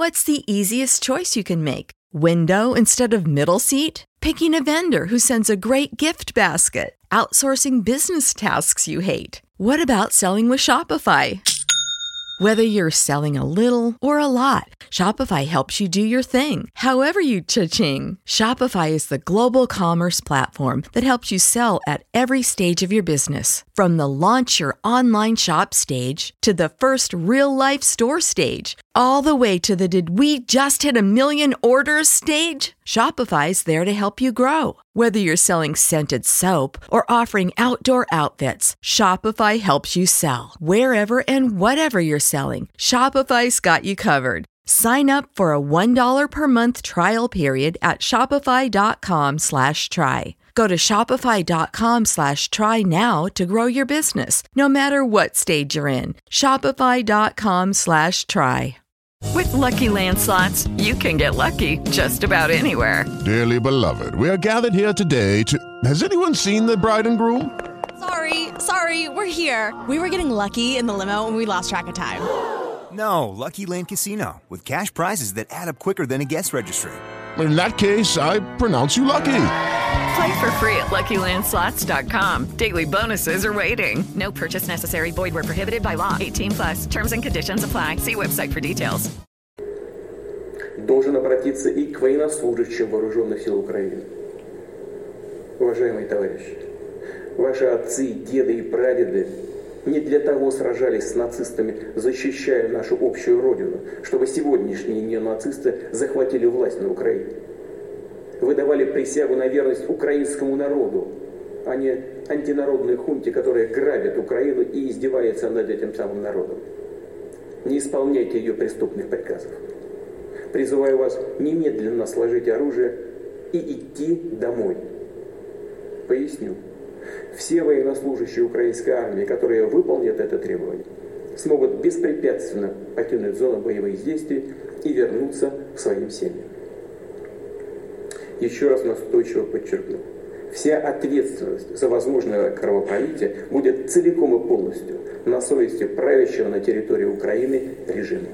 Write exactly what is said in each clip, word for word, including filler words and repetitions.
What's the easiest choice you can make? Window instead of middle seat? Picking a vendor who sends a great gift basket? Outsourcing business tasks you hate? What about selling with Shopify? Whether you're selling a little or a lot, Shopify helps you do your thing, however you cha-ching. Shopify is the global commerce platform that helps you sell at every stage of your business. From the launch your online shop stage to the first real-life store stage, all the way to the did we just hit a million orders stage. Shopify's there to help you grow. Whether you're selling scented soap or offering outdoor outfits, Shopify helps you sell. Wherever and whatever you're selling, Shopify's got you covered. Sign up for a one dollar per month trial period at shopify.com slash try. Go to shopify.com slash try now to grow your business, no matter what stage you're in. Shopify.com slash try. With Lucky Land Slots, you can get lucky just about anywhere. Dearly beloved, we are gathered here today to... Has anyone seen the bride and groom? Sorry, sorry, we're here. We were getting lucky in the limo and we lost track of time. No, Lucky Land Casino, with cash prizes that add up quicker than a guest registry. In that case, I pronounce you lucky. Play for free at lucky land slots dot com. Daily bonuses are waiting. No purchase necessary. Void where prohibited by law. eighteen plus. Terms and conditions apply. See website for details. Должен обратиться и к военнослужащим вооруженных сил Украины. Уважаемые товарищи, ваши отцы, деды и прадеды не для того сражались с нацистами, защищая нашу общую родину, чтобы сегодняшние неонацисты захватили власть на Украине. Вы давали присягу на верность украинскому народу, а не антинародной хунте, которая грабит Украину и издевается над этим самым народом. Не исполняйте ее преступных приказов. Призываю вас немедленно сложить оружие и идти домой. Поясню. Все военнослужащие украинской армии, которые выполнят это требование, смогут беспрепятственно покинуть зону боевых действий и вернуться к своим семьям. Еще раз настойчиво подчеркну. Вся ответственность за возможное кровопролитие будет целиком и полностью на совести правящего на территории Украины режима.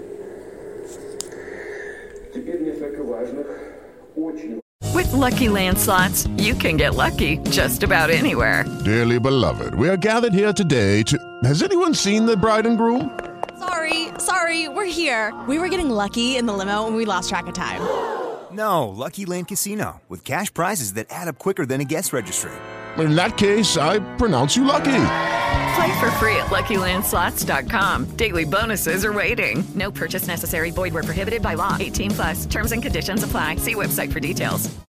Теперь несколько важных, очень... With Lucky Land Slots, you can get lucky just about anywhere. Dearly beloved, we are gathered here today to... Has anyone seen the bride and groom? Sorry, sorry, we're here. We were getting lucky in the limo and we lost track of time. No, Lucky Land Casino, with cash prizes that add up quicker than a guest registry. In that case, I pronounce you lucky. Play for free at lucky land slots dot com. Daily bonuses are waiting. No purchase necessary. Void where prohibited by law. eighteen plus. Terms and conditions apply. See website for details.